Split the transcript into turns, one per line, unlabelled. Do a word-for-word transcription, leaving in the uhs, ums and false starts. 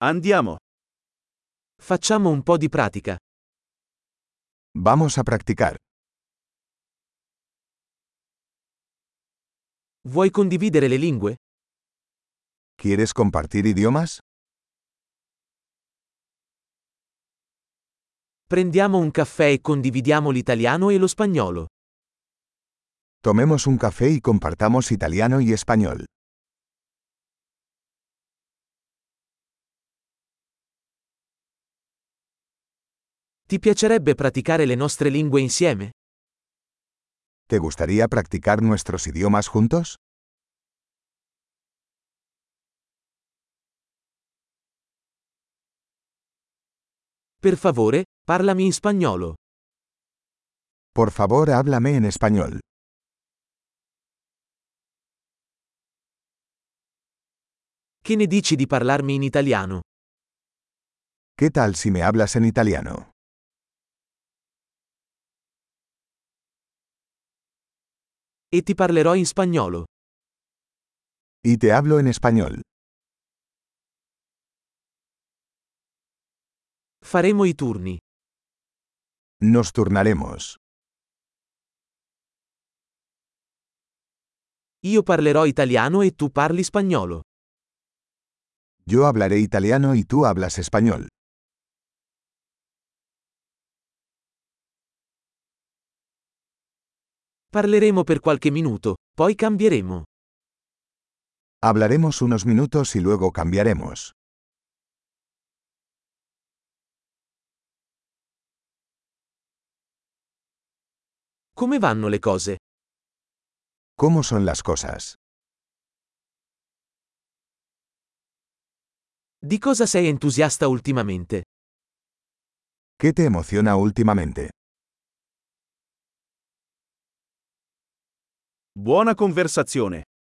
Andiamo.
Facciamo un po' di pratica.
Vamos a practicar.
Vuoi condividere le lingue?
¿Quieres compartir idiomas?
Prendiamo un caffè e condividiamo l'italiano e lo spagnolo.
Tomemos un café y compartamos italiano y español.
Ti piacerebbe praticare le nostre lingue insieme?
¿Te gustaría practicar nuestros idiomas juntos?
Per favore, parlami in spagnolo.
Por favor, háblame en español.
Che ne dici di parlarmi in italiano?
¿Qué tal si me hablas en italiano?
E ti parlerò in spagnolo.
Y te hablo en español.
Faremo i turni.
Nos turnaremos.
Io parlerò italiano e tu parli spagnolo.
Yo hablaré italiano y tú hablas español.
Parleremo per qualche minuto, poi cambieremo.
Hablaremos unos minutos y luego cambiaremos.
Come vanno le cose?
¿Cómo son las cosas?
Di cosa sei entusiasta ultimamente?
¿Qué te emociona últimamente?
Buona conversazione.